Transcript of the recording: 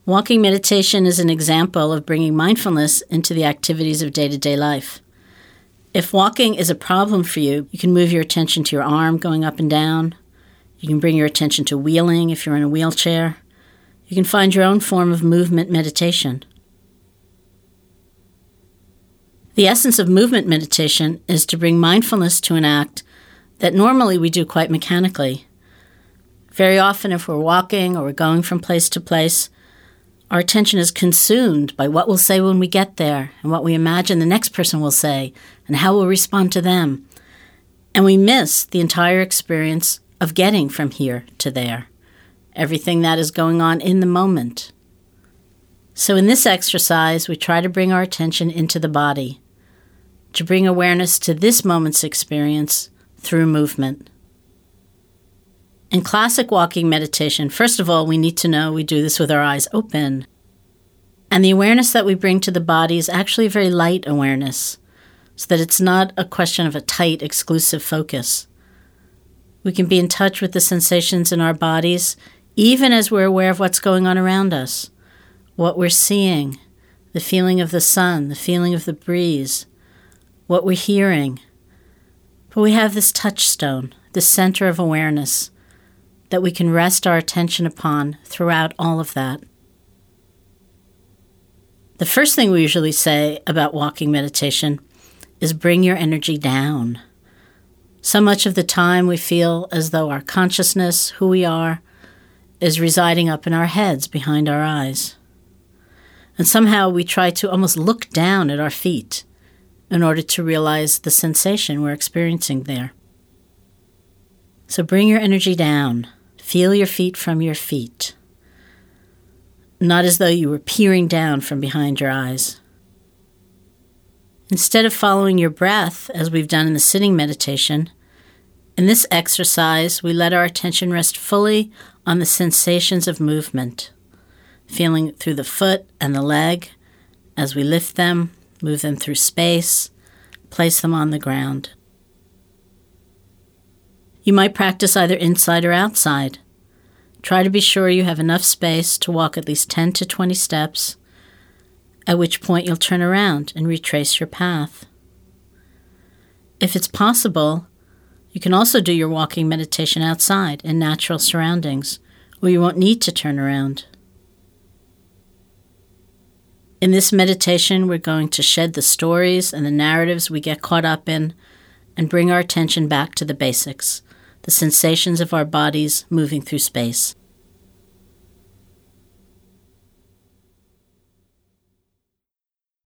Walking meditation is an example of bringing mindfulness into the activities of day-to-day life. If walking is a problem for you, you can move your attention to your arm going up and down. You can bring your attention to wheeling if you're in a wheelchair. You can find your own form of movement meditation. The essence of movement meditation is to bring mindfulness to an act that normally we do quite mechanically. Very often, if we're walking or we're going from place to place, our attention is consumed by what we'll say when we get there and what we imagine the next person will say and how we'll respond to them. And we miss the entire experience of getting from here to there, everything that is going on in the moment. So in this exercise, we try to bring our attention into the body, to bring awareness to this moment's experience through movement. In classic walking meditation, first of all, we need to know we do this with our eyes open. And the awareness that we bring to the body is actually a very light awareness, so that it's not a question of a tight, exclusive focus. We can be in touch with the sensations in our bodies, even as we're aware of what's going on around us, what we're seeing, the feeling of the sun, the feeling of the breeze, what we're hearing. But we have this touchstone, this center of awareness, that we can rest our attention upon throughout all of that. The first thing we usually say about walking meditation is bring your energy down. So much of the time we feel as though our consciousness, who we are, is residing up in our heads behind our eyes. And somehow we try to almost look down at our feet in order to realize the sensation we're experiencing there. So bring your energy down. Feel your feet from your feet, not as though you were peering down from behind your eyes. Instead of following your breath, as we've done in the sitting meditation, in this exercise, we let our attention rest fully on the sensations of movement, feeling through the foot and the leg as we lift them, move them through space, place them on the ground. You might practice either inside or outside. Try to be sure you have enough space to walk at least 10 to 20 steps, at which point you'll turn around and retrace your path. If it's possible, you can also do your walking meditation outside in natural surroundings, where you won't need to turn around. In this meditation, we're going to shed the stories and the narratives we get caught up in and bring our attention back to the basics, the sensations of our bodies moving through space.